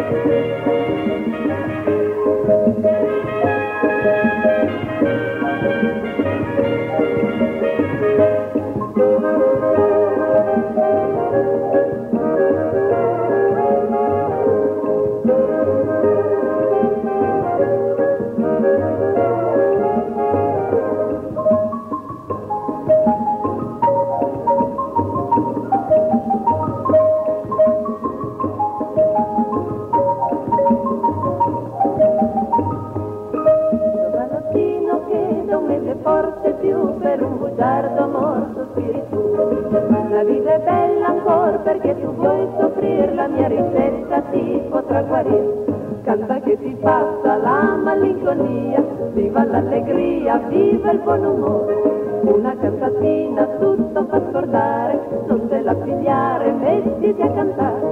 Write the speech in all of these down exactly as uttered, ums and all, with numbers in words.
Viva il buon umore, una cantatina tutto fa scordare, non te la pigliare, mettiti a cantare.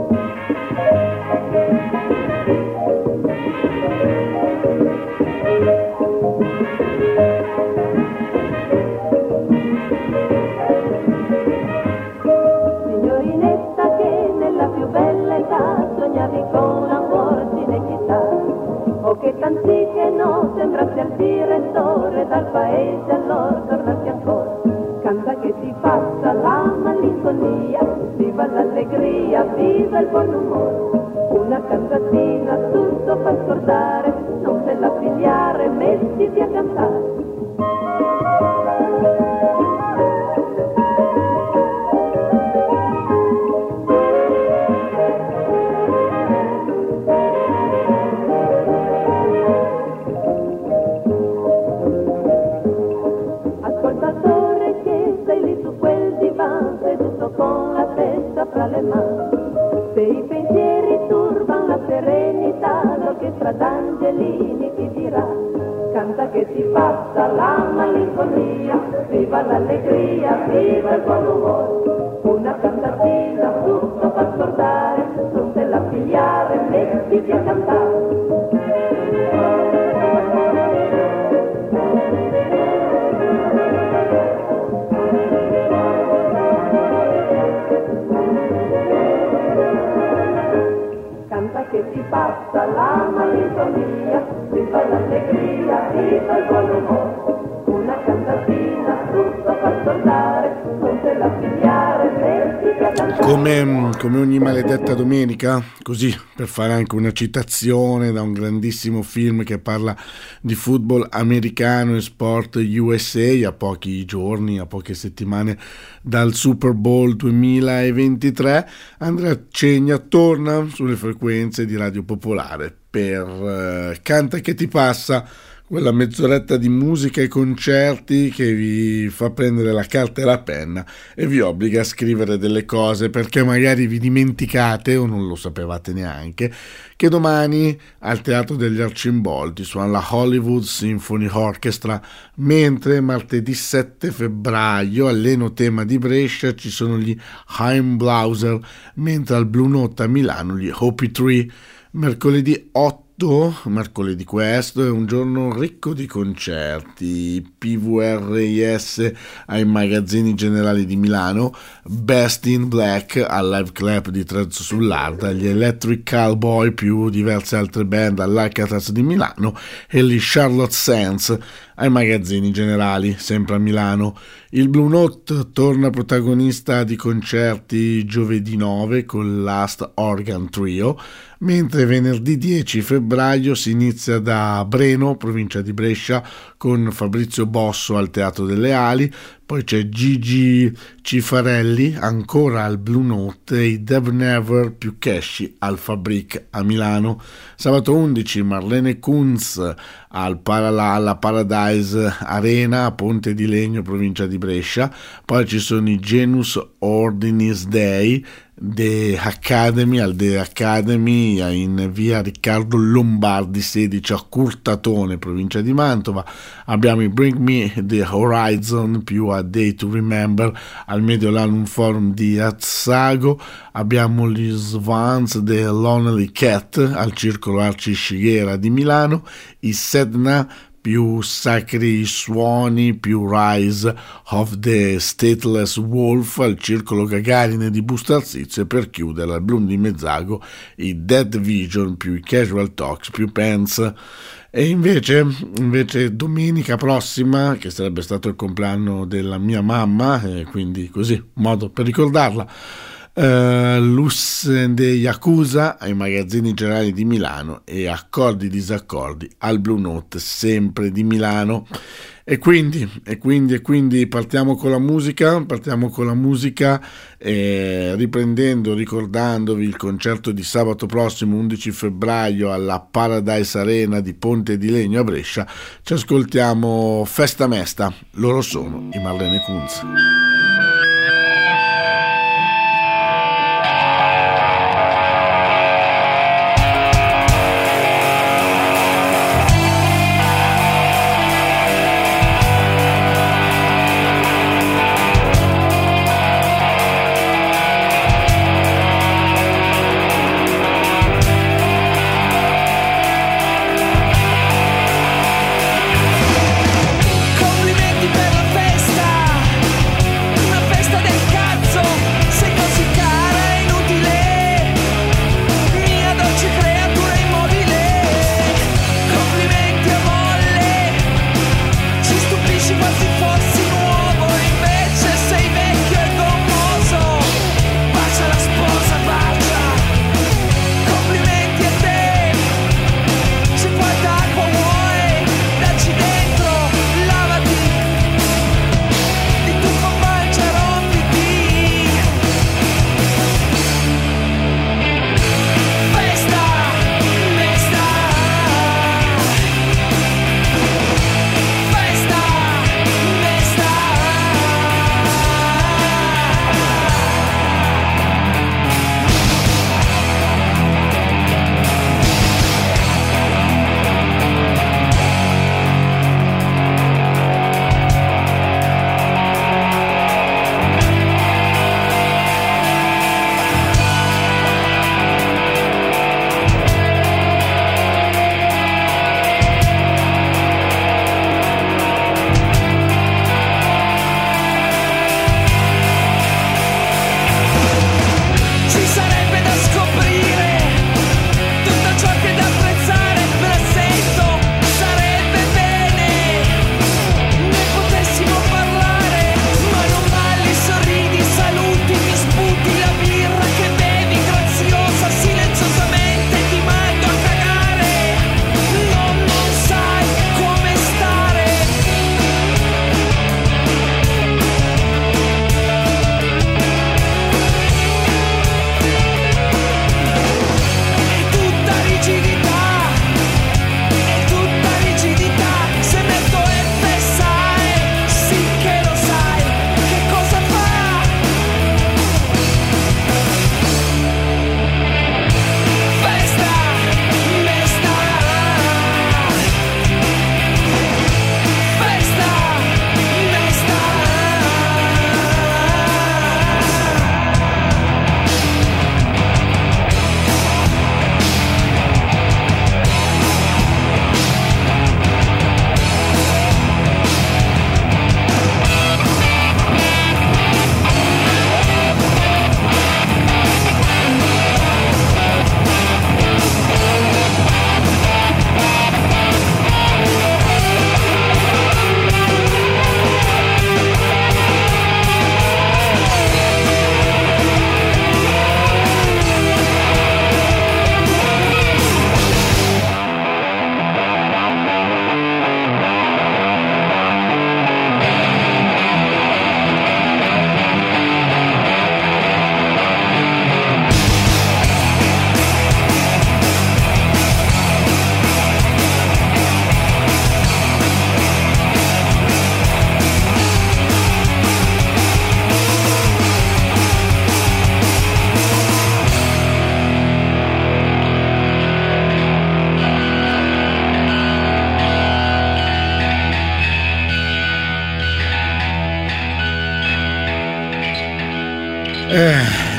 Signorinetta che nella più bella età sognavi con Lamborghini e chitarra, o che t'anziché no sembrassi al direttore dal paese allora tornassi ancora. Canta che ti passa la malinconia, viva l'allegria, viva il buon umore, una cantatina tutto fa scordare, non te la pigliare, mettiti a cantare. Con la testa fra le mani, se i pensieri turban la serenità, l'orchestra d'angelini ti dirà, canta che ti passa la malinconia, viva l'allegria, viva il buon umore, una cantatina tutto fa scordare, non te la pigliare, mettiti a cantare. Che ti passa la malinconia, viva l'allegria, viva il buon umore, una cantatina tutto fa scordare, non te la pigliare, mettiti a cantare. Come, come ogni maledetta domenica, così per fare anche una citazione da un grandissimo film che parla di football americano e sport U S A, a pochi giorni, a poche settimane dal Super Bowl duemilaventitré, Andrea Cegna torna sulle frequenze di Radio Popolare per uh, Canta che ti passa, quella mezz'oretta di musica e concerti che vi fa prendere la carta e la penna e vi obbliga a scrivere delle cose perché magari vi dimenticate o non lo sapevate neanche che domani al Teatro degli Arcimboldi suona la Hollywood Symphony Orchestra, mentre martedì sette febbraio all'Enotema di Brescia ci sono gli Heimblauser, mentre al Blue Note a Milano gli Hopi Tree. Mercoledì otto, mercoledì questo, è un giorno ricco di concerti, P V R I S ai Magazzini Generali di Milano, Best in Black al Live Club di Trezzo sull'Arda, gli Electric Cowboy più diverse altre band all'Alcatraz di Milano e gli Charlotte Sands ai Magazzini Generali, sempre a Milano. Il Blue Note torna protagonista di concerti giovedì nove con Last Organ Trio, mentre venerdì dieci febbraio si inizia da Breno, provincia di Brescia, con Fabrizio Bosso al Teatro delle Ali, poi c'è Gigi Cifarelli ancora al Blue Note e i Dev Never più Casci al Fabric a Milano. Sabato undici Marlene Kunz al Parala, alla Paradise Arena a Ponte di Legno, provincia di Brescia. Poi ci sono i Genus Ordinis Dei The Academy al The Academy in via Riccardo Lombardi sedici a Curtatone, provincia di Mantova. Abbiamo i Bring Me the Horizon più a Day to Remember al Mediolanum Forum di Azzago. Abbiamo gli Swans The Lonely Cat al Circolo Arci Scighera di Milano, i Sedna più sacri suoni, più Rise of the Stateless Wolf al Circolo Gagarin di Busto Arsizio, e per chiudere al Bloom di Mezzago i Dead Vision più i Casual Talks più Pence. E invece, invece domenica prossima, che sarebbe stato il compleanno della mia mamma, e quindi così, modo per ricordarla, Uh, Lus de Yakuza ai Magazzini Generali di Milano e Accordi Disaccordi al Blue Note, sempre di Milano. E quindi, e quindi, e quindi partiamo con la musica, partiamo con la musica eh, riprendendo, ricordandovi il concerto di sabato prossimo undici febbraio alla Paradise Arena di Ponte di Legno a Brescia. Ci ascoltiamo Festa Mesta, loro sono i Marlene Kunz. Complimenti per la festa.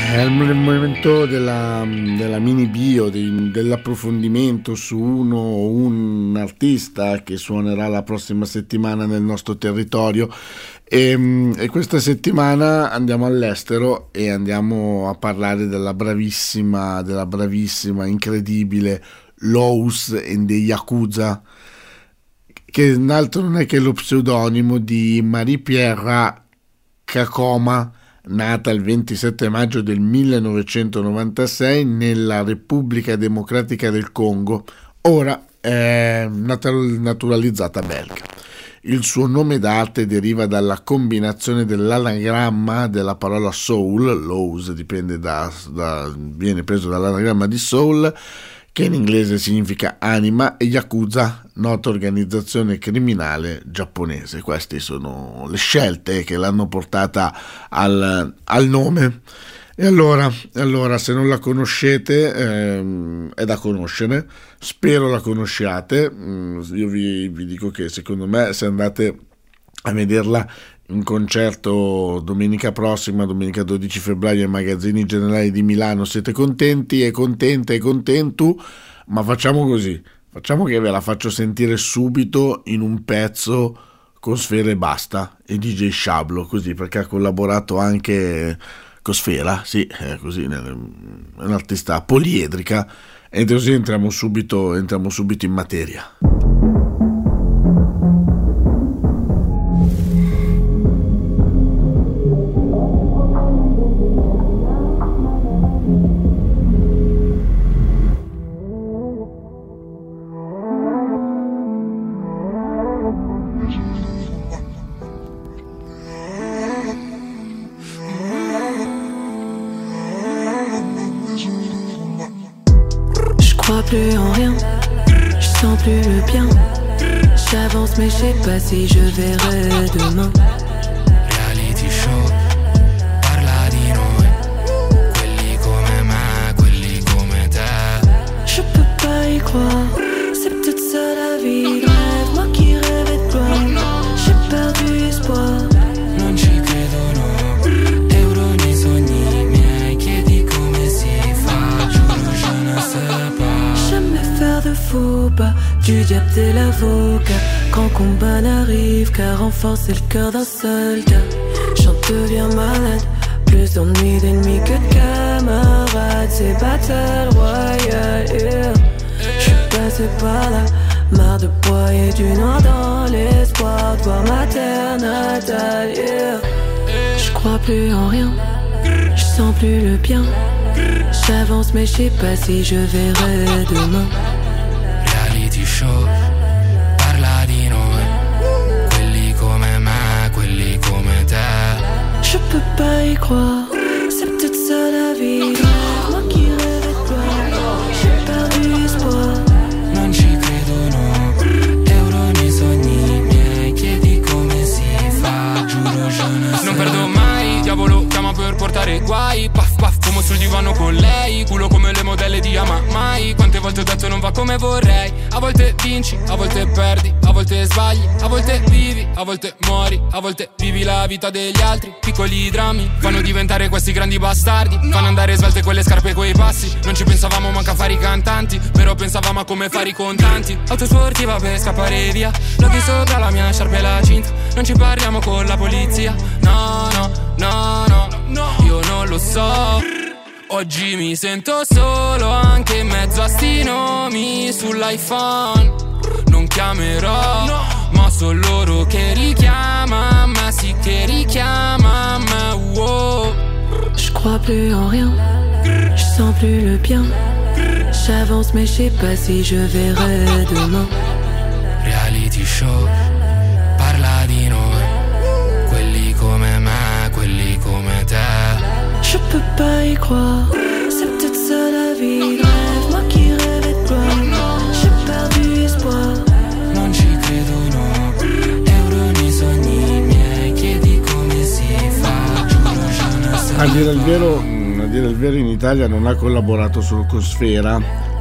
È il momento della, della mini bio, di, dell'approfondimento su uno o un artista che suonerà la prossima settimana nel nostro territorio e, e questa settimana andiamo all'estero e andiamo a parlare della bravissima, della bravissima, incredibile Lowe's and the Yakuza, che altro non è che lo pseudonimo di Marie-Pierre Kakoma, nata il ventisette maggio del millenovecentonovantasei nella Repubblica Democratica del Congo, ora è naturalizzata belga. Il suo nome d'arte deriva dalla combinazione dell'anagramma della parola soul, Lowe's dipende da, da, viene preso dall'anagramma di soul, che in inglese significa anima, e Yakuza, nota organizzazione criminale giapponese. Queste sono le scelte che l'hanno portata al, al nome. E allora, allora, se non la conoscete, ehm, è da conoscere, spero la conosciate. Io vi, vi dico che secondo me, se andate a vederla in concerto domenica prossima, domenica dodici febbraio, ai Magazzini Generali di Milano, siete contenti e contente e contento, ma facciamo così, facciamo che ve la faccio sentire subito in un pezzo con Sfera e Basta e D J Shablo, così, perché ha collaborato anche con Sfera, sì, è così, è un'artista poliedrica, e così entriamo subito, entriamo subito in materia. Plus en rien, je sens plus le bien. J'avance mais je sais pas si je verrai demain. Reality show, parla di noi, quelli come me, quelli come te. Je peux pas y croire, c'est peut-être ça la vie de rêve. Moi qui rêvais de toi, j'ai perdu espoir. Non ci credo no, euro nei sogni miei. Chiedi come si fa, giuro je ne sais pas. Faire de faux pas, du diable t'es l'avocat. Quand combat n'arrive qu'à renforcer le cœur d'un soldat. J'en deviens malade, plus d'ennuis d'ennemis que de camarades. C'est battle royale, yeah. J'suis passé par là, marre de broyer du noir dans l'espoir de voir ma terre natale, yeah. J'crois plus en rien, j'sens plus le bien. J'avance mais je sais pas si je verrai demain. Reality show, parla di noi, quelli come me, quelli come te. Je peux pas y croire, c'est peut-être ça la vie. Moi qui rêvais de toi, j'ai perdu espoir. Non ci credo no, euro nei sogni miei. Chiedi come si fa, giuro je ne sais. Non perdo mai, diavolo chiama per portare guai. Puff puff come sul divano con lei, culo come le modelle di Ama mai. Quante volte ho detto non va come vorrei. A volte vinci, a volte perdi, a volte sbagli, a volte vivi, a volte muori, a volte vivi la vita degli altri. Piccoli drammi fanno diventare questi grandi bastardi, fanno andare svelte quelle scarpe e quei passi. Non ci pensavamo manco a fare i cantanti, però pensavamo a come fare i contanti. Auto sportiva per scappare via, loghi sopra la mia sciarpa e la cinta. Non ci parliamo con la polizia, no no no no no. Io non lo so, oggi mi sento solo anche in mezzo a sti nomi sull'iPhone. Non chiamerò, no, ma sono loro che richiama, ma sì che richiama, ma wow. Je crois plus en rien, je sens plus le bien. J'avance mais je sais pas si je verrai demain. Reality show, parla di noi, quelli come me, quelli come te. Je peux pas y croire, c'est peut-être ça la vie de rêve. Moi qui rêvais de toi, j'ai perdu espoir. Non ci credo no, euro nei sogni miei. Chiedi come si fa, giuro je ne sais. A dire il vero, a dire il vero in Italia non ha collaborato solo con Sfera,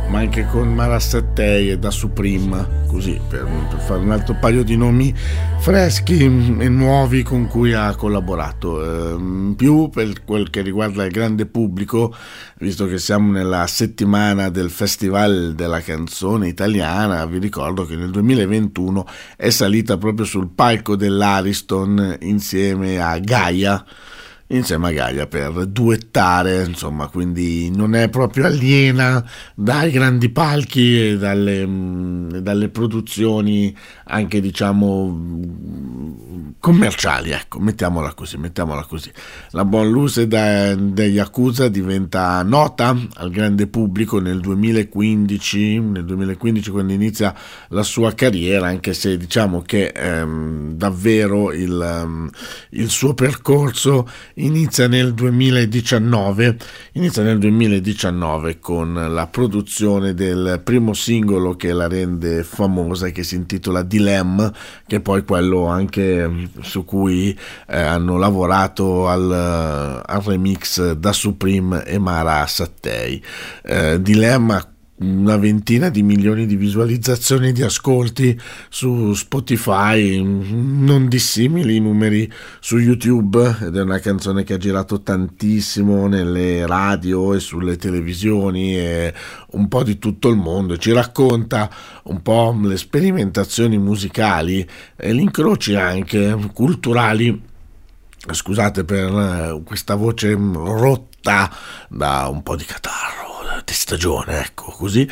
ma anche con Mara Sattei e Da Supreme, così per, per fare un altro paio di nomi freschi e nuovi con cui ha collaborato. Eh, più per quel che riguarda il grande pubblico, visto che siamo nella settimana del Festival della canzone italiana, vi ricordo che nel duemilaventuno è salita proprio sul palco dell'Ariston insieme a Gaia, insieme a Gaia per duettare, insomma, quindi non è proprio aliena dai grandi palchi e dalle, mh, dalle produzioni anche, diciamo, commerciali, ecco, mettiamola così, mettiamola così. La Bonne Luce degli Yakuza diventa nota al grande pubblico nel duemilaquindici, nel duemilaquindici quando inizia la sua carriera, anche se diciamo che ehm, davvero il, um, il suo percorso inizia nel duemiladiciannove, inizia nel duemiladiciannove con la produzione del primo singolo che la rende famosa, che si intitola Dilemma, che è poi quello anche su cui eh, hanno lavorato al, al remix Da Supreme e Mara Sattei. Eh, Dilemma, una ventina di milioni di visualizzazioni, di ascolti su Spotify, non dissimili i numeri su YouTube, ed è una canzone che ha girato tantissimo nelle radio e sulle televisioni e un po' di tutto il mondo. Ci racconta un po' le sperimentazioni musicali e gli incroci anche culturali, scusate per questa voce rotta da un po' di catarro di stagione, ecco, così,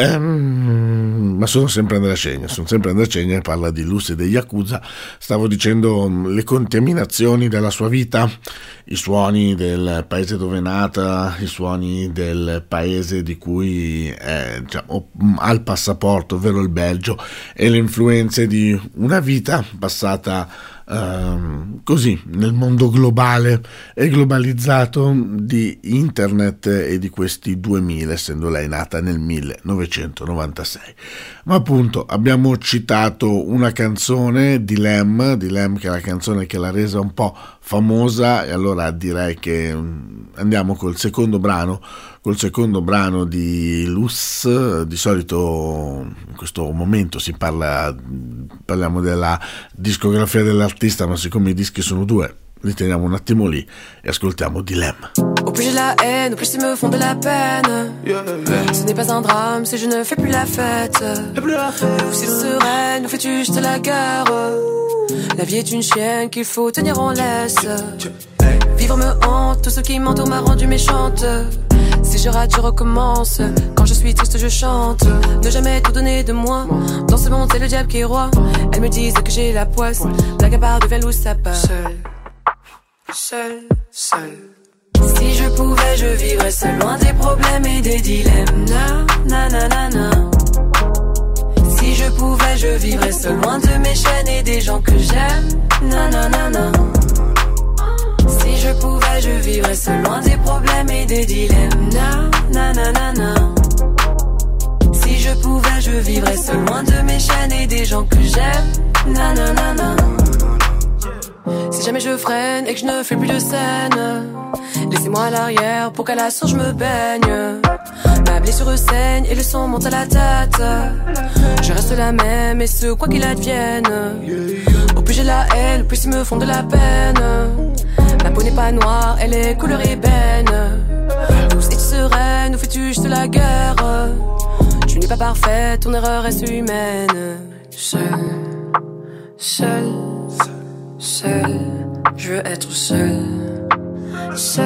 ehm, ma sono sempre Andrea Cegna, sono sempre Andrea Cegna e parla di Luce degli Yakuza. Stavo dicendo le contaminazioni della sua vita, i suoni del paese dove è nata, i suoni del paese di cui è, diciamo, ha il passaporto, ovvero il Belgio, e le influenze di una vita passata Uh, così nel mondo globale e globalizzato di internet e di questi duemila, essendo lei nata nel millenovecentonovantasei. Ma appunto abbiamo citato una canzone, Dilemma, Dilemma che è la canzone che l'ha resa un po' famosa, e allora direi che andiamo col secondo brano, col secondo brano di Luce. Di solito in questo momento si parla, parliamo della discografia dell'artista, ma siccome i dischi sono due, li teniamo un attimo lì e ascoltiamo Dilemma. Au plus j'ai la haine, au plus ils me font de la peine. Yeah, yeah. Ce n'est pas un drame si je ne fais plus la fête. Plus la fête. Ou si sereine, ou fais-tu juste la guerre. La vie est une chienne qu'il faut tenir en laisse. Vivre me hante, tout ce qui m'entoure m'a rendu méchante. Si je rate, je recommence. Quand je suis triste, je chante. Ne jamais tout donner de moi. Dans ce monde, c'est le diable qui est roi. Elles me disent que j'ai la poisse. Blague à part devient loup, ça part. Seul, seul, seul. Si je pouvais, je vivrais seul, loin des problèmes et des dilemmes. Na, na, na, na, na. Si je pouvais, je vivrais seul, loin de mes chaînes et des gens que j'aime. Na, na, na, na. Si je pouvais, je vivrais seul, loin des problèmes et des dilemmes. Na, na, na, na, na. Si je pouvais, je vivrais seul, loin de mes chaînes et des gens que j'aime. Na, na, na, na. Si jamais je freine et que je ne fais plus de scène, laissez-moi à l'arrière pour qu'à la source je me baigne. Ma blessure saigne et le sang monte à la tête. Je reste la même et ce quoi qu'il advienne. Au plus j'ai la haine, au plus ils me font de la peine. Ma peau n'est pas noire, elle est couleur ébène. Douce et sereine, où fais-tu juste la guerre? Tu n'es pas parfaite, ton erreur reste humaine. Seul, seul, seul, je veux être seul. Seul.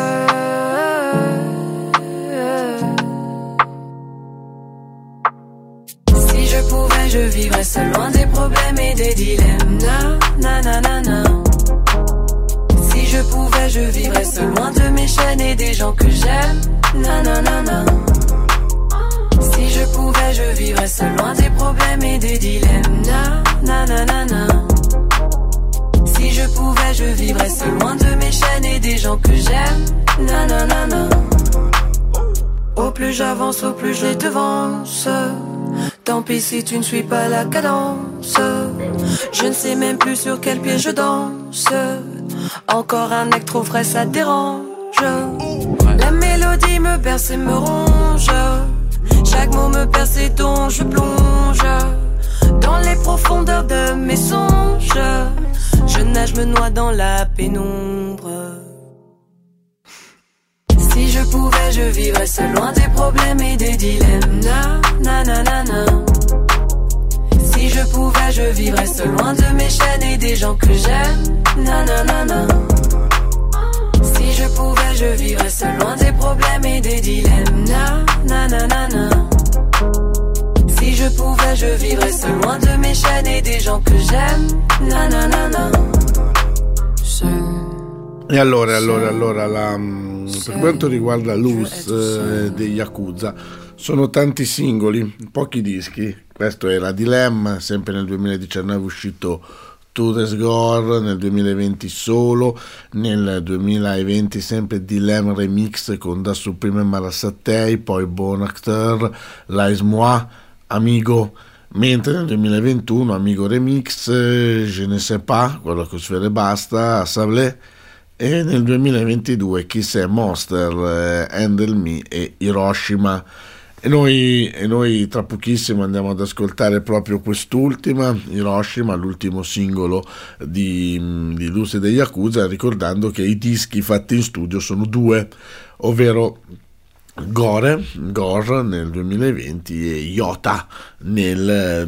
Si je pouvais, je vivrais seul, loin des problèmes et des dilemmes. Na, na, na, na, na. Si je pouvais, je vivrais seul, loin de mes chaînes et des gens que j'aime. Na, na, na, na. Si je pouvais, je vivrais seul, loin des problèmes et des dilemmes. Na, na, na, na, na. Si je pouvais, je vivrais seul, loin de mes chaînes et des gens que j'aime. Na, na, na, na. Au plus j'avance, au plus je les devance. Tant pis si tu ne suis pas la cadence. Je ne sais même plus sur quel pied je danse. Encore un acte trop frais, ça dérange. La mélodie me berce et me ronge. Chaque mot me perce et dont je plonge dans les profondeurs de mes songes. Je nage, me noie dans la pénombre. Si je pouvais, je vivrais seul loin des problèmes et des dilemmes. Na, na, na, na, na. Si je pouvais, je vivrais seul loin de mes chaînes et des gens que j'aime. Na, na, na, na. Si je pouvais, je vivrais seul loin des problèmes et des dilemmes. Na, na, na, na, na. Si je pouvais, je vivrais seul loin de mes chaînes et des gens que j'aime. Na, na, na, na. E allora, allora, allora, la, per quanto riguarda Luz eh, dei Yakuza, sono tanti singoli, pochi dischi. Questo era Dilemma, sempre nel duemiladiciannove è uscito Tourist Gore, nel duemilaventi Solo, nel duemilaventi sempre Dilemma Remix con Da Supreme Marasattei, poi Bon Acteur, Lais Moi, Amigo, mentre nel duemilaventuno Amigo Remix, Je ne sais pas, quello che sfere basta, Sablé, e nel duemilaventidue Chi sei Monster, eh, Handle Me e Hiroshima. E noi, e noi tra pochissimo andiamo ad ascoltare proprio quest'ultima, Hiroshima, l'ultimo singolo di, di Luz dei Yakuza, ricordando che i dischi fatti in studio sono due, ovvero Gore, Gore nel duemilaventi e Yota nel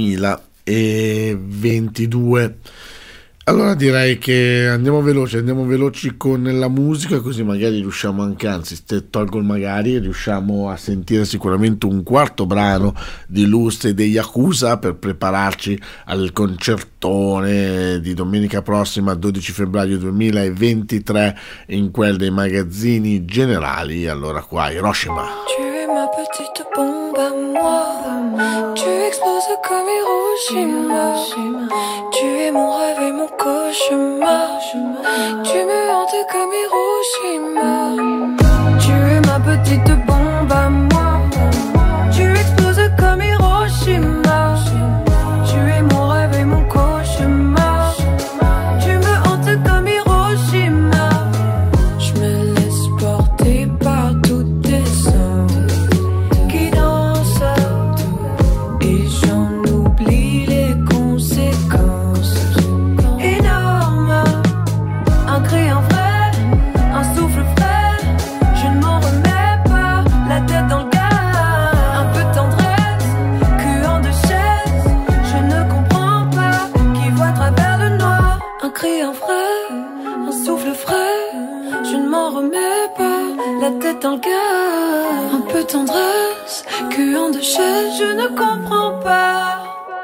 duemilaventidue. Allora direi che andiamo veloci, andiamo veloci con la musica, così magari riusciamo anche, anzi se tolgo il magari, riusciamo a sentire sicuramente un quarto brano di Luz e dei Yakuza per prepararci al concertone di domenica prossima, dodici febbraio duemilaventitré, in quel dei magazzini generali. Allora qua Hiroshima. Tu es ma petite bombe à moi, tu exploses comme Hiroshima. Tu es mon rêve et mon cauchemar, tu me hantes comme Hiroshima. Tu es ma petite bombe à moi, tu exploses comme Hiroshima. Tu es mon rêve et mon cauchemar, tu me hantes comme Hiroshima. Je me laisse porter par toutes tes sens qui dansent et j'en oublie les conséquences. Énorme, un cri, un vrai, un souffle frais. Je ne m'en remets pas, la tête dans le gaz. Un peu de tendresse, cuant de chaise. Je ne comprends pas qui voit à travers le noir. Un cri, un vrai, un souffle frais. Je ne m'en remets pas, la tête dans le gaz. Un peu de tendresse, cuant de chaise. Je ne comprends pas.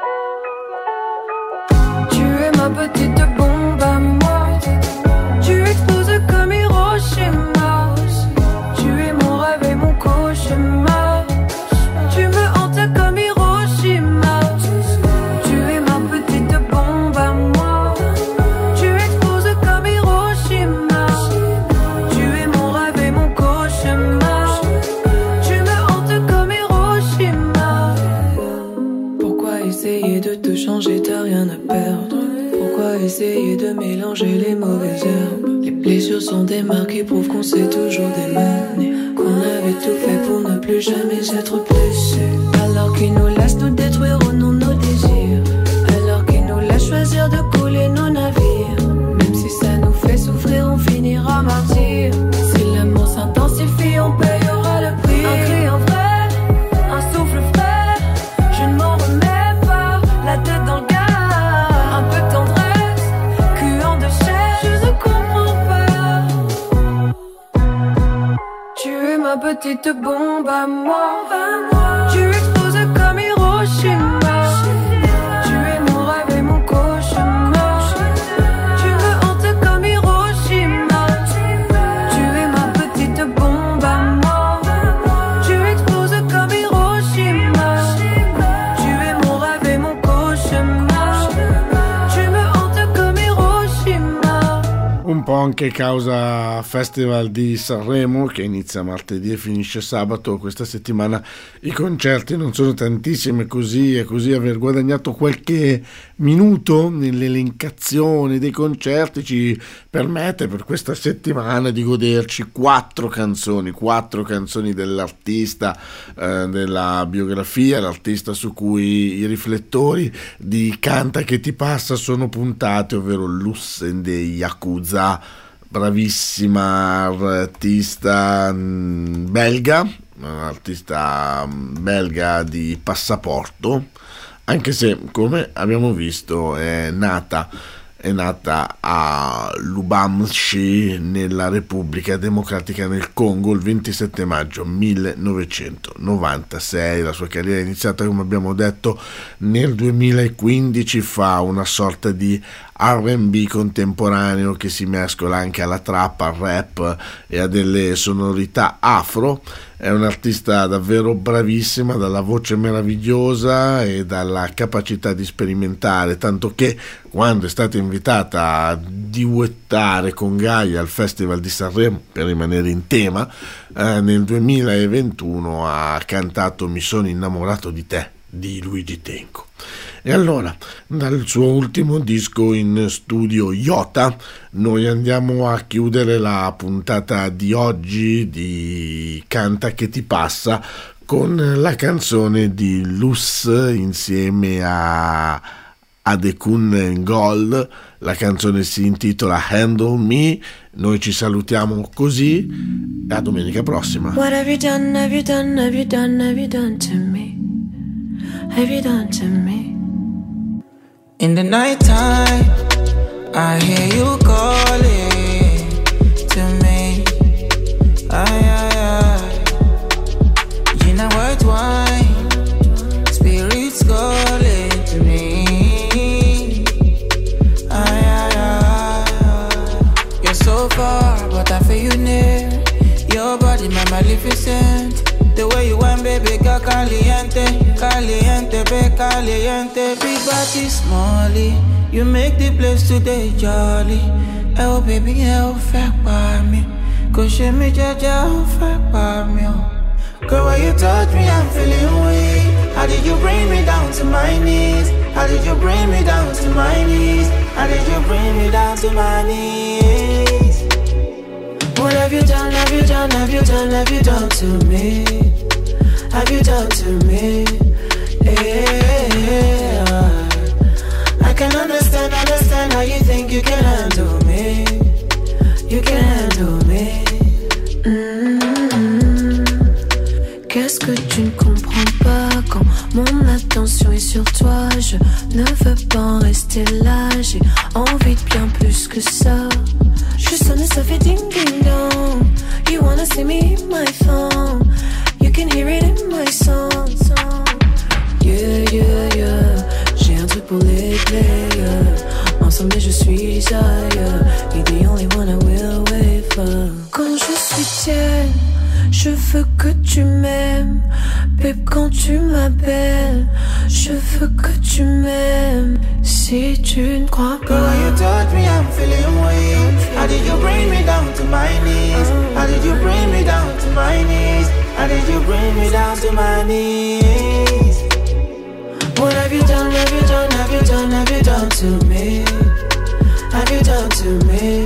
Tu es ma petite bombe à moi, tu exploses comme Hiroshima. Tu es mon rêve et mon cauchemar, tu me hantes comme Hiroshima. Tu es ma petite bombe à moi, tu exploses comme Hiroshima. Tu es mon rêve et mon cauchemar, tu me hantes comme Hiroshima. Pourquoi essayer de te changer, t'as rien à perdre. Pourquoi essayer de mélanger les mauvaises herbes? Les blessures sont des marques qui prouvent qu'on s'est toujours démené, qu'on avait tout fait pour ne plus jamais être blessé. Alors qu'ils nous laissent nous détruire au nom de nos désirs, alors qu'ils nous laissent choisir de couler nos navires. Même si ça nous fait souffrir, on finira martyr. Si l'amour s'intensifie, on payera le prix. Un cri, un vrai, un souffle frais. Je ne m'en remets pas, la tête dans le gaz. Un peu de tendresse, cuant de chair. Je ne comprends pas. Tu es ma petite bombe à moi, tu exploses comme Hiroshima. Tu es mon rêve et mon cauchemar, tu me hantes comme Hiroshima. Tu es ma petite bombe à moi, tu exploses comme Hiroshima. Tu es mon rêve et mon cauchemar, tu me hantes comme Hiroshima. Un po' anche causa Festival di Sanremo, che inizia martedì e finisce sabato. Questa settimana i concerti non sono tantissimi, così e così aver guadagnato qualche minuto nell'elencazione dei concerti ci permette per questa settimana di goderci quattro canzoni, quattro canzoni dell'artista, eh, della biografia, l'artista su cui i riflettori di Canta che ti passa sono puntati, ovvero Lussen dei Yakuza, bravissima artista belga, artista belga di passaporto, anche se come abbiamo visto è nata è nata a Lubumbashi nella Repubblica Democratica del Congo il ventisette maggio millenovecentonovantasei. La sua carriera è iniziata, come abbiamo detto, nel duemilaquindici, fa una sorta di R and B contemporaneo che si mescola anche alla trap, al rap e a delle sonorità afro. È un'artista davvero bravissima, dalla voce meravigliosa e dalla capacità di sperimentare, tanto che quando è stata invitata a duettare con Gaia al Festival di Sanremo, per rimanere in tema, eh, nel duemilaventuno ha cantato Mi sono innamorato di te di Luigi Tenco. E allora, dal suo ultimo disco in studio Iota, noi andiamo a chiudere la puntata di oggi di Canta che ti passa con la canzone di Lus insieme a Adekun Ngol. La canzone si intitola Handle Me. Noi ci salutiamo così e a domenica prossima. What have you done, have you done, have you done, have you done to me? Have you done to me? In the nighttime, I hear you calling to me. Ay, ay, ay. You know what, wine, spirits calling to me. Ay, ay, ay. You're so far, but I feel you near. Your body, my magnificent. The way you want, baby, girl, caliente, caliente, be caliente. Big body, smallie, you make the place today jolly. Oh, baby, oh, fuck by me. Cause she me jaja, oh, fuck by me. Girl, when you touch me, I'm feeling weak. How did you bring me down to my knees? How did you bring me down to my knees? How did you bring me down to my knees? What have you done, have you done, have you done, have you done to me? Have you done to me? Yeah. I can understand, understand how you think you can handle me. You can handle me. Mm-hmm. Qu'est-ce que tu ne comprends pas quand mon attention est sur toi? Je ne veux pas en rester là, j'ai envie de bien plus que ça. Je sonne et ça fait ding ding dong. You wanna see me in my phone? You can hear it in my song. Yeah, yeah, yeah. J'ai un truc pour les players. Ensemble je suis ailleurs. You're the only one I will wait for. Quand je suis tienne, je veux que tu m'aimes. Babe, quand tu m'appelles, je veux que tu m'aimes. Si tu ne crois pas. Girl, when you touch me, I'm feeling weak. How did you bring me down to my knees? How did you bring me down to my knees? How did you bring me down to my knees? What have you done, have you done, have you done, have you done to me? Have you done to me?